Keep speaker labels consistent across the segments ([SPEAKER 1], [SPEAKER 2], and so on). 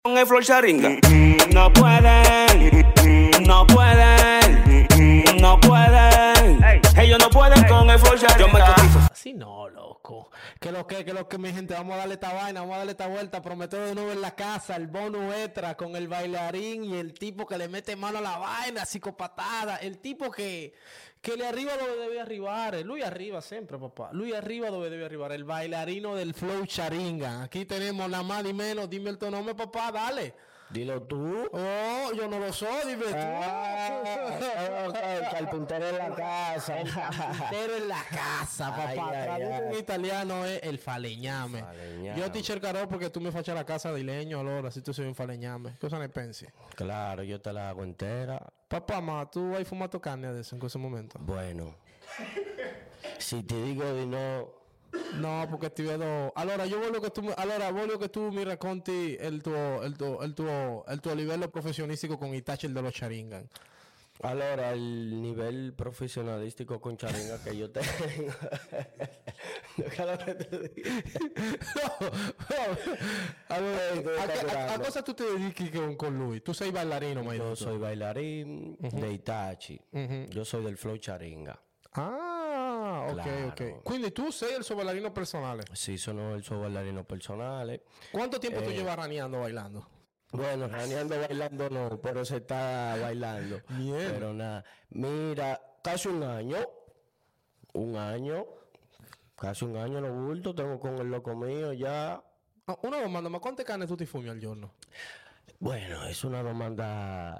[SPEAKER 1] Con el flow charinga. No pueden, no pueden, no pueden. Ellos no pueden con el flow charinga. Yo me cotizo.
[SPEAKER 2] Así no, loco. Que lo que, mi gente, vamos a darle esta vaina, vamos a darle esta vuelta. Prometeo de nuevo en la casa, el bonus extra con el bailarín y el tipo que le mete mano a la vaina, psicopatada. El tipo que le arriba donde debe arribar. Luis arriba siempre, papá. Luis arriba donde debe arribar. El bailarino del flow charinga. Aquí tenemos nada más y menos. Dime el tu nombre, papá, dale.
[SPEAKER 3] Dilo tú.
[SPEAKER 2] Oh, yo no lo soy, dime tú.
[SPEAKER 3] El carpintero en la casa.
[SPEAKER 2] El carpintero en la casa, papá. Traducido en italiano es el faleñame. Yo teacher caro porque tú me fachas la casa de leño, allora, si tú soy un faleñame. Cosa ne pensi?
[SPEAKER 3] Claro, yo te la hago entera.
[SPEAKER 2] Papá, ma, tú has fumado carne adesso in questo momento?
[SPEAKER 3] Bueno, si te digo di no...
[SPEAKER 2] No, perché ti vedo. Allora, io voglio che tu mi racconti il tuo livello professionistico con i toucher dello Sharingan.
[SPEAKER 3] Allora, el nivel profesionalístico con charinga que yo tengo.
[SPEAKER 2] Allora, a cosa tu ti dedichi con lui? Tu sei ballerino, ma
[SPEAKER 3] Yo soy bailarín de Itachi. Yo soy del flow charinga.
[SPEAKER 2] Ah, ok,
[SPEAKER 3] Claro.
[SPEAKER 2] ok. Quindi tu sei il suo ballerino personale.
[SPEAKER 3] Sí, sono el suo bailarino personale.
[SPEAKER 2] Quanto tempo tu llevas raneando bailando?
[SPEAKER 3] Bueno, raneando bailando no, pero se está bailando.
[SPEAKER 2] Bien.
[SPEAKER 3] Pero nada, mira, casi un año, casi un año lo bulto, tengo con el loco mío ya.
[SPEAKER 2] Ah, una domanda, ma quante canne tu ti fumi al giorno?
[SPEAKER 3] Bueno, es una demanda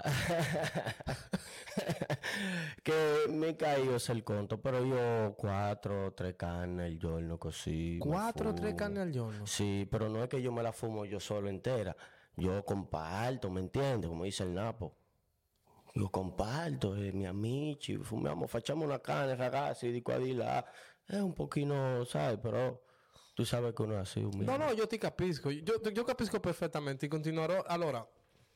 [SPEAKER 3] que me caído el conto, pero yo 4 o 3 carnes al giorno così.
[SPEAKER 2] 4 o 3
[SPEAKER 3] fumo.
[SPEAKER 2] canne al giorno?
[SPEAKER 3] Sí, pero no es que yo me la fumo yo solo entera. Yo comparto, ¿me entiendes? Como dice el Napo. Yo comparto, mi amici, fumiamo, facciamo una carne, ragazzi, di qua di là. È un pochino, sai, però tu sabes che uno è así humilde.
[SPEAKER 2] No, io ti capisco, io capisco perfettamente, continuerò. Allora,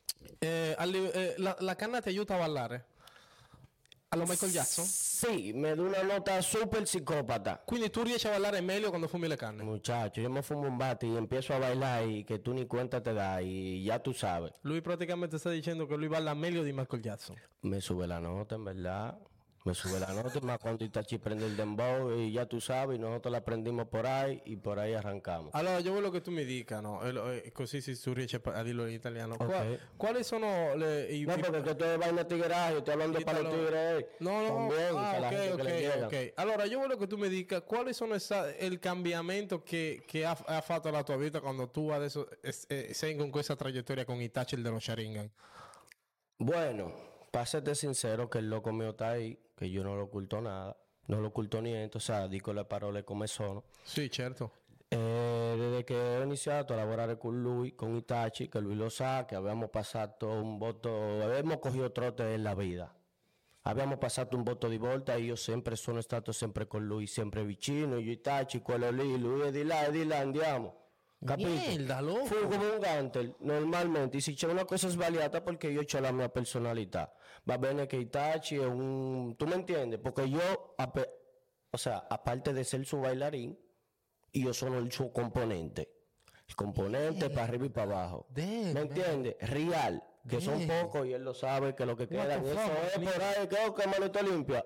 [SPEAKER 2] la canna ti aiuta a ballare? Allo Michael Jackson?
[SPEAKER 3] Sí, me da una nota súper psicópata.
[SPEAKER 2] Quindi tu riesci a ballare meglio quando fumi le canne?
[SPEAKER 3] Muchacho, yo me fumo un bate y empiezo a bailar y que tú ni cuenta te das y ya tú sabes.
[SPEAKER 2] Lui praticamente sta dicendo che lui balla meglio di Michael Jackson.
[SPEAKER 3] Me sube la nota, en verdad. Me sube la nota, más cuando Itachi prende el dembow y ya tú sabes, y nosotros la prendimos por ahí y por ahí arrancamos.
[SPEAKER 2] Allora, io voglio che tu mi dica, no? Così se tu riesci a dirlo in italiano.
[SPEAKER 3] Ok.
[SPEAKER 2] Quali sono
[SPEAKER 3] No, porque que tú eres vaina tigreaje, yo estoy hablando para los tigres.
[SPEAKER 2] No,
[SPEAKER 3] También, para la gente que le llega.
[SPEAKER 2] ok. Allora, io voglio che tu mi dica quali sono il cambiamento che ha fatto la tua vita quando tu adesso sei con questa traiettoria con i toucher dello Sharingan.
[SPEAKER 3] Bueno, para serte sincero, que el loco mío está ahí, que yo no lo oculto nada, no lo oculto niente, o sea, dico le parole come sono.
[SPEAKER 2] Sì, certo.
[SPEAKER 3] Desde que he iniziato a lavorare con lui, con Itachi, che lui lo sa, che abbiamo passato un botto, abbiamo cogido trote nella vita. Abbiamo passato un botto di volta e io sono stato sempre con lui, sempre vicino, io Itachi, quello lì, lui è di là, andiamo. Capito?
[SPEAKER 2] Mierda, loco.
[SPEAKER 3] Fu come un gantel, normalmente, e se c'è una cosa sbagliata perché io ho la mia personalità. Va bene che Itachi è un... ¿Tú me entiendes? Porque yo, o sea, aparte de ser su bailarín, yo sono il suo componente. El componente para arriba y para abajo.
[SPEAKER 2] Damn,
[SPEAKER 3] ¿Me entiendes? Real. Que son pocos y él lo sabe que lo que queda
[SPEAKER 2] the
[SPEAKER 3] eso
[SPEAKER 2] fuck,
[SPEAKER 3] es por ahí, que manito limpia.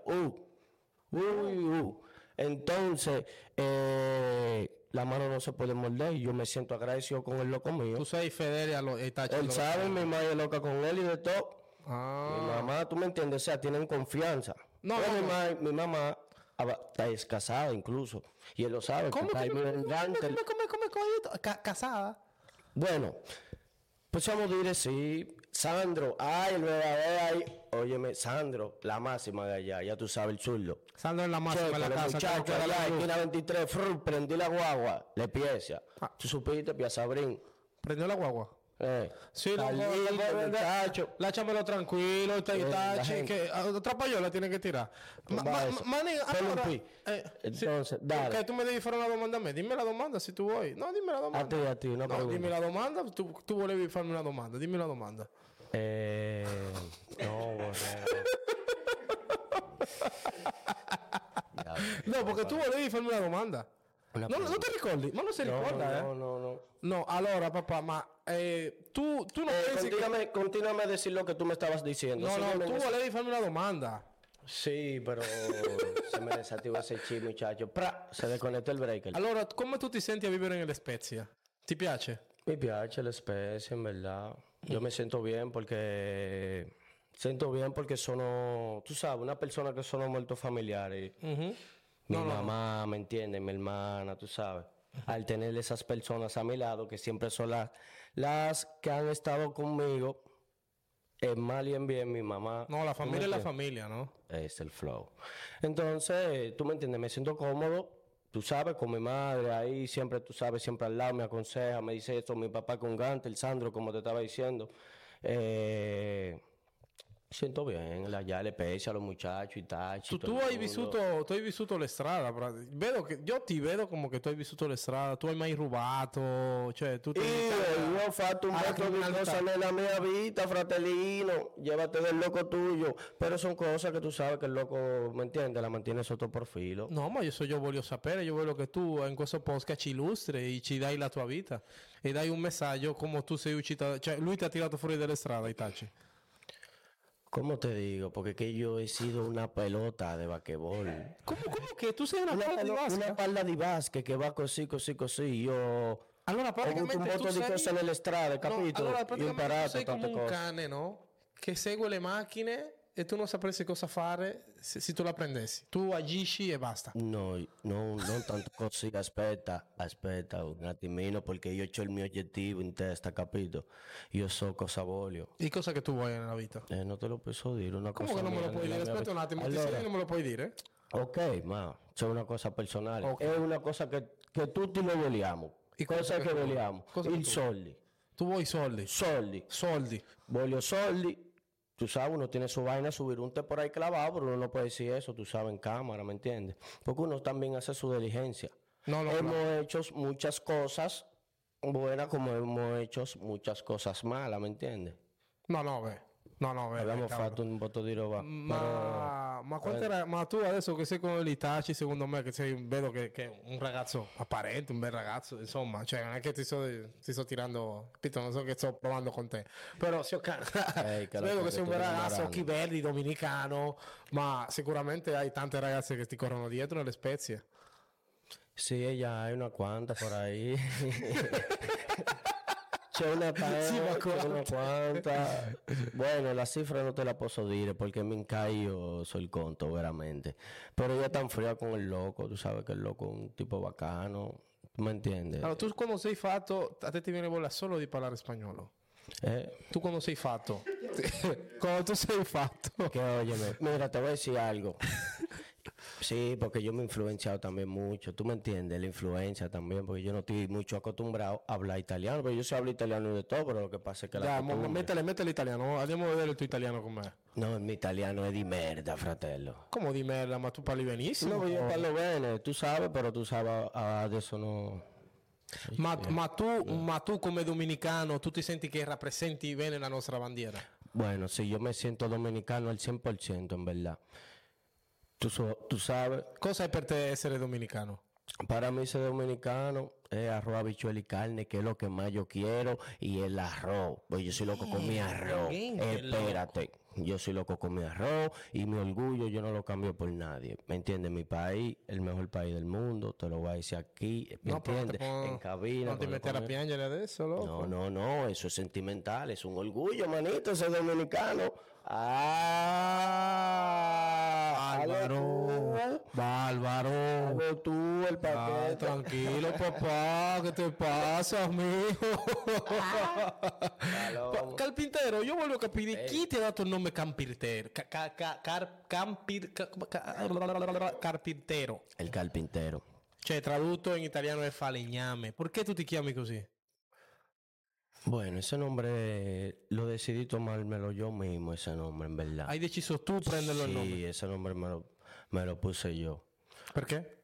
[SPEAKER 3] Entonces, la mano no se puede morder y yo me siento agradecido con el loco mío.
[SPEAKER 2] Tu sei fedele allo toucher
[SPEAKER 3] Él
[SPEAKER 2] dello
[SPEAKER 3] sabe, mi madre es loca con él y de todo.
[SPEAKER 2] Ah.
[SPEAKER 3] Mi mamá, tú me entiendes, o sea, tienen confianza.
[SPEAKER 2] No,
[SPEAKER 3] Pero
[SPEAKER 2] no,
[SPEAKER 3] mi mamá es casada incluso y él lo sabe.
[SPEAKER 2] ¿Cómo
[SPEAKER 3] que
[SPEAKER 2] que
[SPEAKER 3] está ahí,
[SPEAKER 2] come casada?
[SPEAKER 3] Bueno, pues vamos a decir sí. Sandro, ay, el verdadero ahí. Óyeme, Sandro, la máxima de allá, ya tú sabes, el zurdo.
[SPEAKER 2] Sandro en la máxima
[SPEAKER 3] Checo,
[SPEAKER 2] en la
[SPEAKER 3] el
[SPEAKER 2] casa.
[SPEAKER 3] muchacho
[SPEAKER 2] creo que
[SPEAKER 3] allá,
[SPEAKER 2] era la-
[SPEAKER 3] esquina 23, prendí la guagua, le pieza. Tú supiste, Piazabrín.
[SPEAKER 2] Prendió la guagua. Sí, loco,
[SPEAKER 3] Carlito, muchacho.
[SPEAKER 2] Láchamelo tranquilo,
[SPEAKER 3] la gente.
[SPEAKER 2] que otra payola tiene que tirar.
[SPEAKER 3] Tumba eso.
[SPEAKER 2] Manín,
[SPEAKER 3] Ponle un
[SPEAKER 2] ahora,
[SPEAKER 3] pi. Entonces, dale.
[SPEAKER 2] que tú me debes fueron la demanda, dime la demanda si tú voy. No, dime la demanda.
[SPEAKER 3] A ti, no
[SPEAKER 2] No,
[SPEAKER 3] preguntes.
[SPEAKER 2] dime la demanda, tú vuelves a farme una demanda, dime la demanda.
[SPEAKER 3] No, borrero.
[SPEAKER 2] No, porque tú vuelves a farme una demanda.
[SPEAKER 3] Una
[SPEAKER 2] No, no te ricordi? Ma non si ricorda,
[SPEAKER 3] no.
[SPEAKER 2] No, allora, papà, ma tu non pensi che...
[SPEAKER 3] Continuame a decir lo che tu mi estabas diciendo.
[SPEAKER 2] No,
[SPEAKER 3] Sígueme
[SPEAKER 2] tu
[SPEAKER 3] en eso.
[SPEAKER 2] volevi farmi una domanda.
[SPEAKER 3] Sí, pero se me desactivó ese chip, muchacho. ¡Pra! Se desconectó il breaker.
[SPEAKER 2] Allora, come tu ti senti a vivere nelle Spezia? Ti piace?
[SPEAKER 3] Mi piace la especie, en verdad. Yo me siento bien porque... sono, tú sabes, una persona que sono molto familiares. Mi mamá, ¿me entiende? Mi hermana, tú sabes. Al tener esas personas a mi lado, que siempre son las que han estado conmigo, en mal y en bien, mi mamá.
[SPEAKER 2] No, la
[SPEAKER 3] ¿tú me
[SPEAKER 2] familia es la
[SPEAKER 3] entiendes?
[SPEAKER 2] familia, ¿no?
[SPEAKER 3] Es el flow. Entonces, tú me entiendes, me siento cómodo, tú sabes, con mi madre ahí, siempre, tú sabes, siempre al lado, me aconseja, me dice esto, mi papá con Gante, el Sandro, como te estaba diciendo. Siento bien, allá le pese a los muchachos y tal.
[SPEAKER 2] Tu hai vissuto le strade, io ti vedo come che tu hai vissuto le strade, tu hai mai rubato, cioè tu
[SPEAKER 3] Io ho fatto un botto di cose nella mia vita, fratellino, llévate del loco tuyo, pero son cosas que tú sabes que el loco, ¿me entiendes? La mantiene sotto profilo.
[SPEAKER 2] No, ma io voglio sapere, io voglio che tu in questo podcast ci illustri e ci dai la tua vita e dai un messaggio come tu sei uscito, cioè lui ti ha tirato fuori dalle strade, Itachi.
[SPEAKER 3] ¿Cómo te digo? Porque que yo he sido una pelota de basquetbol.
[SPEAKER 2] ¿Cómo che tu sei una palla di
[SPEAKER 3] Una
[SPEAKER 2] basca?
[SPEAKER 3] palla di basket che va così. Io
[SPEAKER 2] Allora
[SPEAKER 3] ho avuto un
[SPEAKER 2] praticamente tu
[SPEAKER 3] botto di
[SPEAKER 2] sei...
[SPEAKER 3] cose nelle strade, capito?
[SPEAKER 2] Allora
[SPEAKER 3] Io ho
[SPEAKER 2] praticamente tu
[SPEAKER 3] imparato
[SPEAKER 2] sei come
[SPEAKER 3] tante
[SPEAKER 2] un
[SPEAKER 3] cose.
[SPEAKER 2] cane, no? Che segue le macchine e tu non sapresti cosa fare se tu la prendessi. Tu agisci e basta.
[SPEAKER 3] No, non tanto così. Aspetta un attimino, perché io ho il mio obiettivo in testa, capito? Io so cosa voglio.
[SPEAKER 2] Di cosa che tu vuoi nella vita?
[SPEAKER 3] Non te lo posso dire, una
[SPEAKER 2] Come
[SPEAKER 3] cosa
[SPEAKER 2] che non me lo
[SPEAKER 3] mia
[SPEAKER 2] puoi
[SPEAKER 3] nella
[SPEAKER 2] dire?
[SPEAKER 3] mia
[SPEAKER 2] Aspetta un
[SPEAKER 3] vita.
[SPEAKER 2] attimo, ti
[SPEAKER 3] Allora,
[SPEAKER 2] sei che non me lo puoi dire?
[SPEAKER 3] ok, ma c'è una cosa personale.
[SPEAKER 2] Ok.
[SPEAKER 3] È una cosa che tutti noi vogliamo.
[SPEAKER 2] E
[SPEAKER 3] Cosa che vogliamo?
[SPEAKER 2] cosa che
[SPEAKER 3] I
[SPEAKER 2] tu-
[SPEAKER 3] soldi.
[SPEAKER 2] Tu vuoi soldi? Soldi.
[SPEAKER 3] Voglio soldi. Tú sabes, uno tiene su vaina, subir un té por ahí clavado, pero uno no puede decir eso, tú sabes, en cámara, ¿me entiendes? Porque uno también hace su diligencia.
[SPEAKER 2] No,
[SPEAKER 3] Hemos hecho muchas cosas buenas como hemos hecho muchas cosas malas, ¿me entiendes?
[SPEAKER 2] No, beh.
[SPEAKER 3] Abbiamo
[SPEAKER 2] cavolo.
[SPEAKER 3] fatto un botto di roba.
[SPEAKER 2] Ma quanto era, ma tu adesso che sei con l'Itachi, secondo me che sei, vedo che è un ragazzo apparente, un bel ragazzo, insomma, cioè non è che ti sto tirando, capito, non so che sto provando con te, però vedo che sei un bel ragazzo, occhi verdi, dominicano, ma sicuramente hai tante ragazze che ti corrono dietro nelle Spezie.
[SPEAKER 3] Sí, ella hay una cuanta por ahí. C'è una quanta. Bueno, la cifra no te la posso dire porque me io so il conto veramente. Pero ella è tan fría con el loco, tú sabes que el loco è un tipo bacano, ¿tú me entiendes?
[SPEAKER 2] Allora, tu quando sei fatto, a te ti viene voglia solo di parlare spagnolo. Tu quando sei fatto, quando tu sei fatto,
[SPEAKER 3] Que óyeme, mira, te voy a decir algo. Sí, porque yo me he influenciado también mucho, tú me entiendes, la influencia también, porque yo no estoy mucho acostumbrado a hablar italiano, pero yo sé hablar italiano y de todo, pero lo que pasa es que la costumbre...
[SPEAKER 2] mettele l'italiano, andiamo a vedere il tuo italiano com'è.
[SPEAKER 3] No, il mio italiano è di merda, fratello.
[SPEAKER 2] Come di merda, ma tu parli benissimo.
[SPEAKER 3] No, io parlo bene, tu sai, però tu sai, adesso no...
[SPEAKER 2] Ma tu come dominicano, tu ti senti che rappresenti bene la nostra bandiera?
[SPEAKER 3] Bueno, sí, yo me siento dominicano al 100%, en verdad. Tú sabes,
[SPEAKER 2] Cosa è per te essere dominicano?
[SPEAKER 3] para mí ser dominicano es arroz, habichuela y carne, que es lo que más yo quiero, y el arroz. Pues yo soy loco con mi arroz.
[SPEAKER 2] bien, qué
[SPEAKER 3] Espérate, yo soy loco con mi arroz y mi orgullo yo no lo cambio por nadie. ¿Me entiendes? Mi país, el mejor país del mundo, te lo voy a decir aquí, ¿me entiendes? En cabina.
[SPEAKER 2] Non ti
[SPEAKER 3] con
[SPEAKER 2] mettere a
[SPEAKER 3] con-
[SPEAKER 2] piangere adesso, loco?
[SPEAKER 3] No, eso es sentimental, es un orgullo, manito, ser dominicano.
[SPEAKER 2] Bárbaro.
[SPEAKER 3] Hago tú el
[SPEAKER 2] Ah,
[SPEAKER 3] paquete.
[SPEAKER 2] tranquilo, papá, ¿qué te pasa, mijo? Carpintero, io voglio capire chi ti ha dato il nome Carpintero. Carpintero.
[SPEAKER 3] El carpintero.
[SPEAKER 2] Cioè, tradotto in italiano è falegname. Perché tu ti chiami così?
[SPEAKER 3] Bueno, ese nombre lo decidí tomármelo yo mismo, ese nombre, en verdad.
[SPEAKER 2] Hai deciso tu prenderlo il nome.
[SPEAKER 3] Sí, ese nombre me lo puse yo.
[SPEAKER 2] Perché?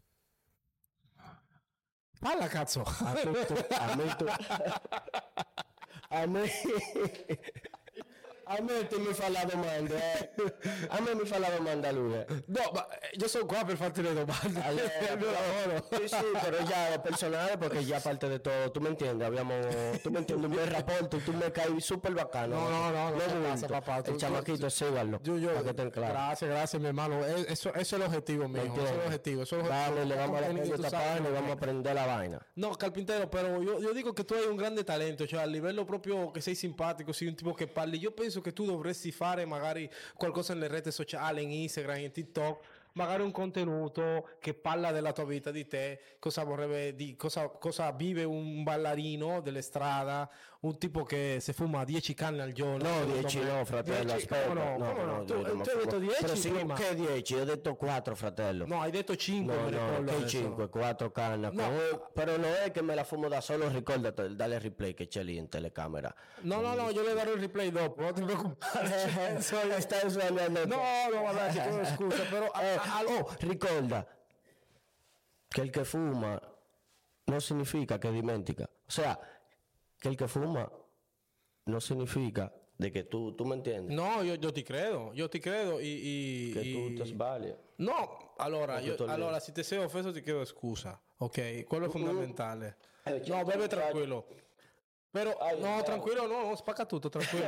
[SPEAKER 2] Parla, cazzo.
[SPEAKER 3] A mí, A me ti mi fa la domanda, A me mi fa la domanda lui.
[SPEAKER 2] No, ma io sono qua per farti le domande. È il mio lavoro.
[SPEAKER 3] Sí, pero ya personal, porque ya aparte de todo, tú me entiendes, tú me entiendes, un buen rapporto, tú me caes súper bacano.
[SPEAKER 2] No te pasa, papá.
[SPEAKER 3] El chamaquito, síganlo, para que estén claros.
[SPEAKER 2] Gracias, mi hermano. Eso es el objetivo mío. Eso es el objetivo.
[SPEAKER 3] Vale, le vamos a dar esta página y vamos a aprender la vaina.
[SPEAKER 2] No, carpintero, pero yo dico che tu hai un grande talento, cioè a livello proprio che sei simpatico, sei un tipo che parli. Io penso che tu dovresti fare magari qualcosa nelle reti sociali, in Instagram, in TikTok, magari un contenuto che parla della tua vita, di te, cosa vorrebbe, cosa vive un ballerino delle strade, un tipo che si fuma 10 canne al giorno.
[SPEAKER 3] No, 10 no, fratello, aspetta.
[SPEAKER 2] No. Tu hai detto 10 prima.
[SPEAKER 3] Che 10? Io ho detto 4, fratello.
[SPEAKER 2] No, hai detto 5.
[SPEAKER 3] No, che 5, 4 canne.
[SPEAKER 2] No.
[SPEAKER 3] Però non è che me la fumo da solo, ricordate, dale replay che c'è lì in telecamera.
[SPEAKER 2] No, io le darò il replay dopo, non ti preoccupare.
[SPEAKER 3] Stai sbagliando.
[SPEAKER 2] No, vabbè, ti chiedo scusa, però...
[SPEAKER 3] ricorda che il che fuma non significa che dimentica. O sea, che il che fuma non significa de che tu me entiendes.
[SPEAKER 2] No, io ti credo y
[SPEAKER 3] che tu ti sbagli.
[SPEAKER 2] No, allora, se ti sei offeso ti chiedo scusa, ok? Quello è fondamentale. No, beve tranquillo. Pero, no, tranquillo, no, spacca tutto, tranquillo.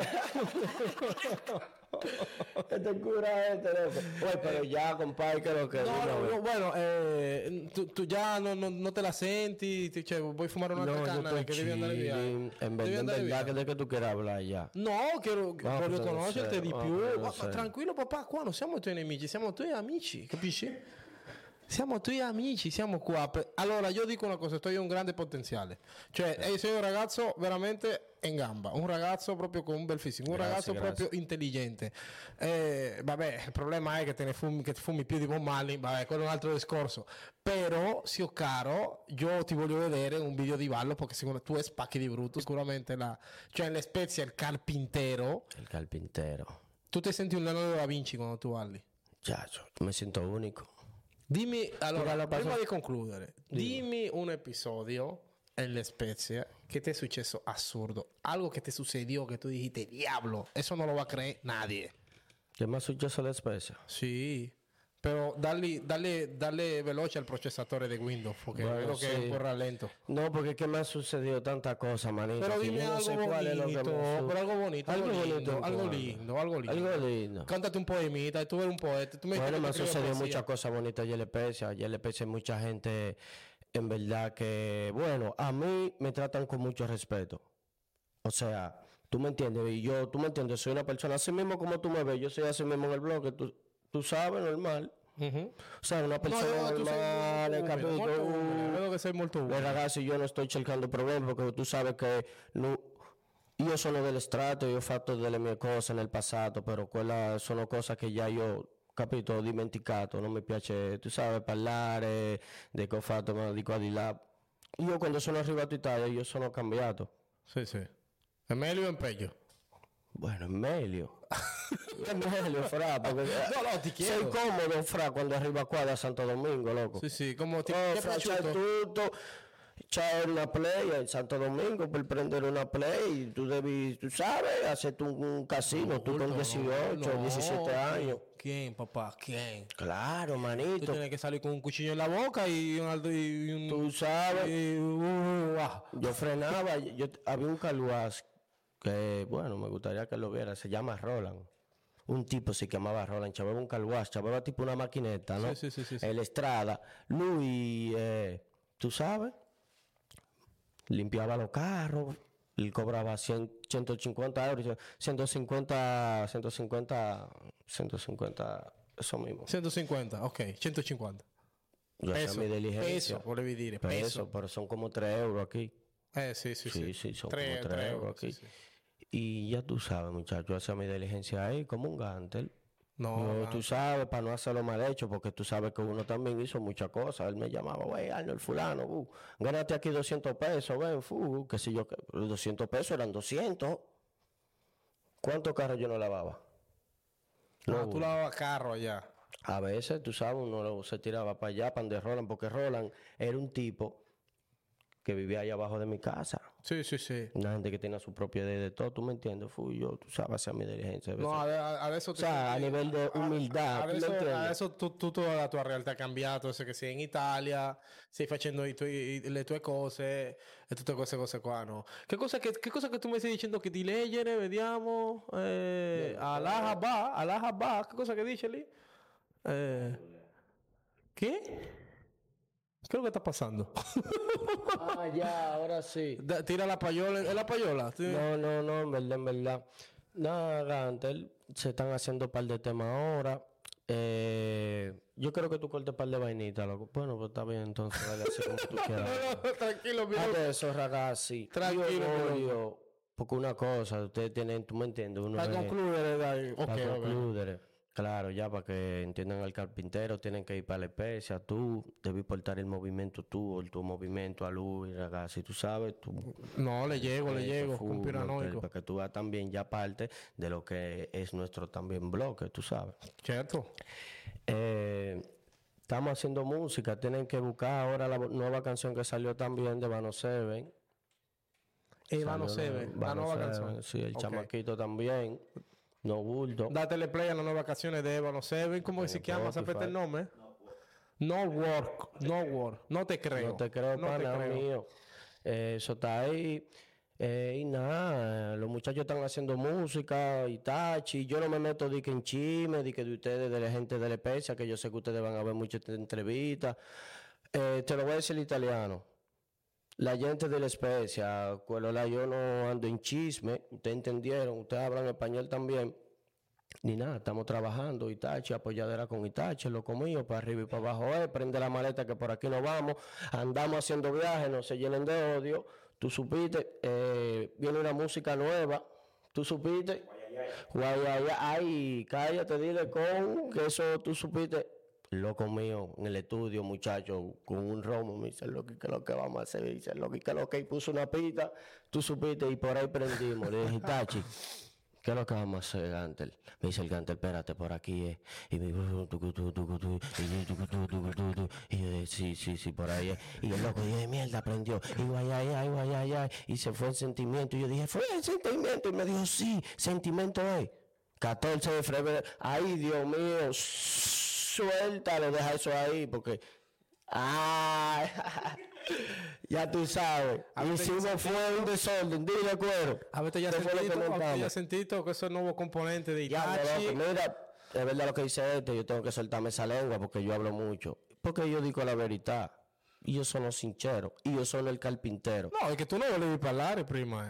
[SPEAKER 3] Te cura Oye, pero ya, compadre, que lo que...
[SPEAKER 2] No, bueno, tú ya no te la senti, cioè, vuoi fumare un'altra canna che devi andare via.
[SPEAKER 3] En verdad, que de que tú quieras hablar ya.
[SPEAKER 2] No, voglio conoscerti di più. Ma
[SPEAKER 3] sé.
[SPEAKER 2] tranquillo, papà, qua non siamo tuoi nemici, siamo tuoi amici, capisci? Siamo tuoi amici, siamo qua. Allora, io dico una cosa, tu hai un grande potenziale. Cioè, sei un ragazzo veramente in gamba, un ragazzo proprio con un bel fisico, un ragazzo proprio intelligente. Vabbè, il problema è che che fumi più di Bob Marley, vabbè, quello è un altro discorso. Però, zio caro, io ti voglio vedere un video di ballo perché secondo tu spacchi di brutto. Sicuramente cioè in Spezia il carpintero.
[SPEAKER 3] Il carpintero.
[SPEAKER 2] Tu ti senti un Leonardo da Vinci quando tu balli?
[SPEAKER 3] Chacho, me siento único.
[SPEAKER 2] Dimmi, allora, prima di concludere, dimmi un episodio nelle Spezie che ti è successo assurdo, algo che ti sucedió che tu dijiste, diablo, eso no lo va a creer nadie.
[SPEAKER 3] ¿Qué más successo alle spese?
[SPEAKER 2] Sì, però dalle veloce al processatore di Windows, perché
[SPEAKER 3] Bueno,
[SPEAKER 2] vedo che è un po' rallento.
[SPEAKER 3] No, porque que me ha sucedido tanta cosa, manito.
[SPEAKER 2] Pero
[SPEAKER 3] que
[SPEAKER 2] dime
[SPEAKER 3] yo no sé
[SPEAKER 2] algo
[SPEAKER 3] cuál es lo que
[SPEAKER 2] bonito,
[SPEAKER 3] me
[SPEAKER 2] pero algo bonito, algo lindo.
[SPEAKER 3] Algo lindo.
[SPEAKER 2] Cántate un poemita, tú eres un poeta. Tú
[SPEAKER 3] Bueno, me han
[SPEAKER 2] escribes
[SPEAKER 3] sucedido
[SPEAKER 2] poesía.
[SPEAKER 3] muchas cosas bonitas y el hay mucha gente, en verdad que, bueno, a mí me tratan con mucho respeto. O sea, tú me entiendes, tú me entiendes, soy una persona así mismo como tú me ves, yo soy así mismo en el blog, tú sabes, normal.
[SPEAKER 2] Uh-huh.
[SPEAKER 3] O sea, una persona normal,
[SPEAKER 2] Vedo che sei molto umile.
[SPEAKER 3] ragazzi, io non sto cercando problemi perché tu sai che io sono dell'estrato, io ho fatto delle mie cose nel passato, però quella sono cose che già io, capito, ho dimenticato, non mi piace, tu sai, parlare di che ho fatto, ma di qua di là. Io quando sono arrivato in Italia, io sono cambiato.
[SPEAKER 2] Sì. È meglio o è peggio?
[SPEAKER 3] Bueno, è meglio. È meglio, fra, perché
[SPEAKER 2] No, ti chiedo.
[SPEAKER 3] sei comodo, fra, quando arriva qua da Santo Domingo, loco.
[SPEAKER 2] Sì, come ti
[SPEAKER 3] Oh,
[SPEAKER 2] è
[SPEAKER 3] fra, c'è
[SPEAKER 2] piaciuto?
[SPEAKER 3] tutto, c'è una play in Santo Domingo per prendere una play, tu sabes, hacerte un casino, tú con 18, 17 años.
[SPEAKER 2] ¿Quién, papá? ¿Quién?
[SPEAKER 3] Claro,
[SPEAKER 2] Tú
[SPEAKER 3] manito.
[SPEAKER 2] tienes que salir con un cuchillo en la boca y un
[SPEAKER 3] Tú sabes,
[SPEAKER 2] ah.
[SPEAKER 3] yo frenaba, había un caluaz que, bueno, me gustaría que lo viera, se llama Roland. Un tipo se llamaba Roland, chavaba un caluaz, chavaba tipo una maquineta, ¿no?
[SPEAKER 2] Sí.
[SPEAKER 3] El Estrada. Luis, tú sabes, limpiaba los carros, él cobraba 150 euros, 150, eso mismo.
[SPEAKER 2] 150, ok, 150.
[SPEAKER 3] Yo hacía mi diligencia.
[SPEAKER 2] Peso, volevi dire, peso.
[SPEAKER 3] Pero son como 3 euros aquí.
[SPEAKER 2] Sì,
[SPEAKER 3] Sí, son
[SPEAKER 2] Tre
[SPEAKER 3] como 3 euros aquí.
[SPEAKER 2] sì.
[SPEAKER 3] Y ya tú sabes, muchacho, hacía mi diligencia ahí como un gántel.
[SPEAKER 2] No,
[SPEAKER 3] Tú sabes, para no hacerlo mal hecho, porque tú sabes que uno también hizo muchas cosas. Él me llamaba, güey, Arnold, fulano, gánate aquí 200 pesos, ven, qué sé yo, 200 pesos eran 200. ¿Cuántos carros yo no lavaba?
[SPEAKER 2] tú lavabas carro allá.
[SPEAKER 3] A veces, tú sabes, uno se tiraba para allá, para donde Roland, porque Roland era un tipo que vivía allá abajo de mi casa.
[SPEAKER 2] Sí, sí, sí.
[SPEAKER 3] Una gente que tiene su propia idea de todo, ¿tú me entiendes? Fui yo, tú sabes, hacia mi diligencia.
[SPEAKER 2] No, a eso
[SPEAKER 3] o sea, a nivel de humildad, ¿tú me
[SPEAKER 2] a
[SPEAKER 3] entiendes?
[SPEAKER 2] eso toda la tua realtà è cambiato, se che sei in Italia, stai facendo le tue cose e tutte queste cose qua, no? Che cosa che tu mi stai dicendo che di leggere, vediamo, Allah Habba, che cosa che dice lì? Che? ¿Qué es lo que está pasando?
[SPEAKER 3] Ah, ya, ahora sí.
[SPEAKER 2] Tira la payola. ¿Es la payola? Sí.
[SPEAKER 3] No, en verdad. Nada, antes se están haciendo un par de temas ahora. Yo creo que tú cortes un par de vainitas, loco. Bueno, pues está bien, entonces, dale así como tú quieras.
[SPEAKER 2] No, tranquilo, mira.
[SPEAKER 3] Hazte eso, ragazzi.
[SPEAKER 2] Tranquilo,
[SPEAKER 3] porque una cosa, ustedes tienen, tú me entiendes, uno
[SPEAKER 2] Para concluir,
[SPEAKER 3] para concluir. Claro, ya para que entiendan al carpintero, tienen que ir para la especie. Tú debes portar el movimiento tú, o tu movimiento a Luis, ragazzi, tú sabes, tú.
[SPEAKER 2] No, le llego, conspiranoico.
[SPEAKER 3] Para que tú veas también ya parte de lo que es nuestro también bloque, tú sabes.
[SPEAKER 2] Cierto.
[SPEAKER 3] Estamos haciendo música, tienen que buscar ahora la nueva canción que salió también de Vano Seven.
[SPEAKER 2] Vano Seven, la nueva canción.
[SPEAKER 3] Sí, el chamaquito también. No bulto.
[SPEAKER 2] Dátele play a las nuevas canciones de Ébano Seven. ¿Cómo se llama? ¿Sabes el nombre? No work. No te creo.
[SPEAKER 3] No te creo, pana mío. Eso está ahí. Y nada, los muchachos están haciendo música y tachi. Yo no me meto de que en chisme, de que de ustedes, de la gente de la especie, que yo sé que ustedes van a ver muchas entrevistas. Te lo voy a decir en italiano. La gente de la especie, yo no ando en chisme, ustedes entendieron, ustedes hablan español también, ni nada, estamos trabajando, Itachi, apoyadera con Itachi, lo mío, para arriba y para abajo, prende la maleta que por aquí nos vamos, andamos haciendo viajes, no se llenen de odio, tú supiste, viene una música nueva, tú supiste, ay, cállate, dile con, que eso tú supiste. Loco mío, en el estudio, muchacho, con un romo, me dice, Loki, ¿qué es lo que vamos a hacer? Dice, Loki, ¿qué es lo que? Y puso una pita, tú supiste, y por ahí prendimos. Le dije, Tachi, ¿qué es lo que vamos a hacer, Gantel? Me dice el Gantel, espérate, por aquí, Y me dijo, y yo dije, sí, por ahí, Y el loco dije, mierda, prendió. Y yo, ay, y se fue el sentimiento. Y yo dije, fue el sentimiento. Y me dijo, sí, sentimiento es. 14 de febrero. Ay, Dios mío, suéltalo, deja eso ahí, porque... ya tú sabes. Hicimos fue un desorden, dile cuero.
[SPEAKER 2] A ver, ya sentí que eso es nuevo componente de
[SPEAKER 3] Itachi. Mira, es verdad lo que dice yo tengo que soltarme esa lengua porque yo hablo mucho. Porque yo digo la verdad. Y yo sono sincero. Y yo sono el carpintero.
[SPEAKER 2] No, es que tú no vuelves a hablar, prima.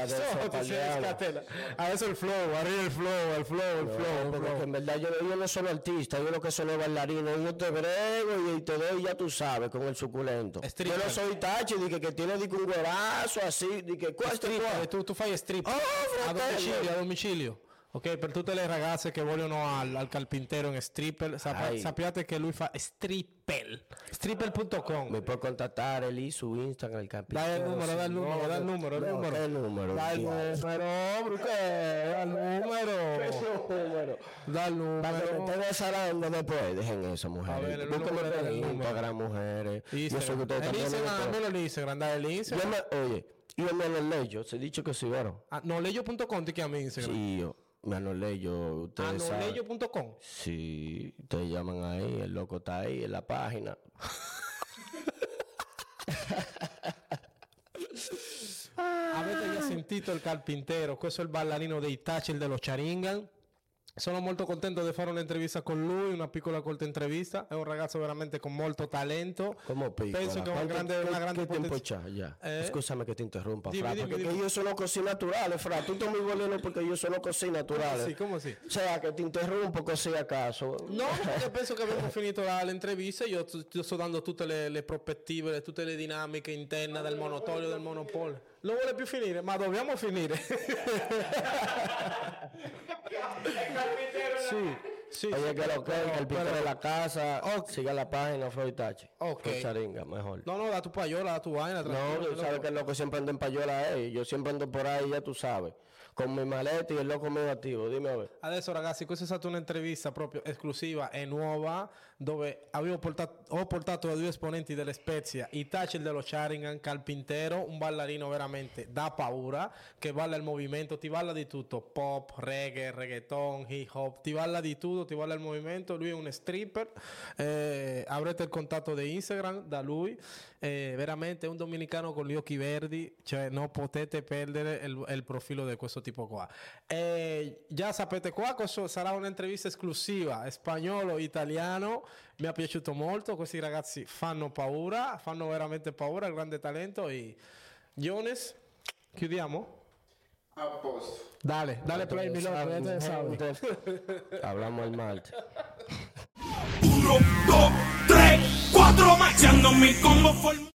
[SPEAKER 2] Adesso il flow, arriba el flow.
[SPEAKER 3] Porque en verdad yo no soy artista, yo lo que soy bailarino. Yo te brego y te doy, ya tú sabes, con el suculento. Stripper. Yo no soy Tachi, que tiene un güerazo así, que ¿cuál
[SPEAKER 2] tú fai stripper. A domicilio. Ok, per tutte le ragazze che vogliono al carpintero in stripper, sappiate che lui fa stripper. Stripper.com.
[SPEAKER 3] Mi puoi contattare lì su Instagram, il carpintero.
[SPEAKER 2] Dai il numero.
[SPEAKER 3] Dai il numero. Para que me estén salando después, dejen eso, mujeres. Búsquenme en Instagram, mujeres. Yo sé que ustedes también.
[SPEAKER 2] El Instagram, dai el Instagram.
[SPEAKER 3] Oye, yo me lo leyo, se ha dicho que sí, ¿verdad?
[SPEAKER 2] Noleyo.com te llama Instagram.
[SPEAKER 3] Sí, yo. Anoleyo, ustedes saben.
[SPEAKER 2] Anoleyo.com.
[SPEAKER 3] Sí, ustedes llaman ahí, el loco está ahí en la página.
[SPEAKER 2] Avete già sentito il carpintero? Questo è il ballerino dei Itachi, il dello Charingan. Sono molto contento di fare un'intervista con lui, una piccola corta intervista. È un ragazzo veramente con molto talento.
[SPEAKER 3] Come piccola?
[SPEAKER 2] Penso che è una grande
[SPEAKER 3] tempo c'ha ya? Scusami che ti interrompa, Fra,
[SPEAKER 2] dimmi.
[SPEAKER 3] perché io sono così naturale, Fra. Tu mi volevo perché io sono così naturale.
[SPEAKER 2] Come sì?
[SPEAKER 3] O sea, che ti interrompo così a caso.
[SPEAKER 2] No, perché penso che abbiamo finito l'intervista. Io ti sto dando tutte le prospettive, tutte le dinamiche interne del monopolio, del monopolio. Non vuole più finire, ma dobbiamo finire. Sí.
[SPEAKER 3] Oye, que lo que el carpintero de la casa, siga la página Flow Itachi.
[SPEAKER 2] Ok.
[SPEAKER 3] Con Charinga, mejor.
[SPEAKER 2] No, da tu payola, da tu vaina.
[SPEAKER 3] No, tú sabes que el loco siempre anda en payola, yo siempre ando por ahí, ya tú sabes. con mi maleta e il loco mio attivo. Dimmi a ver.
[SPEAKER 2] Adesso ragazzi, questa è stata un'intervista proprio esclusiva e nuova dove ho portato due esponenti delle Spezia, Itachi dello Sharingan, Carpintero, un ballerino veramente da paura che balla il movimento, ti balla di tutto, pop, reggae, reggaeton, hip hop, ti balla di tutto, ti balla il movimento, lui è un stripper, avrete il contatto di Instagram da lui, veramente un dominicano con gli occhi verdi, cioè non potete perdere il profilo di questo tipo qua. Già sapete qua, questo sarà un'intervista esclusiva, spagnolo, italiano, mi è piaciuto molto, questi ragazzi fanno paura, fanno veramente paura, grande talento. E Jones, chiudiamo?
[SPEAKER 4] A posto.
[SPEAKER 2] Dale play mi loco, ya te sabes.
[SPEAKER 3] Hablamos el martes.
[SPEAKER 1] 1, 2, 3, 4, marchando mi combo forma.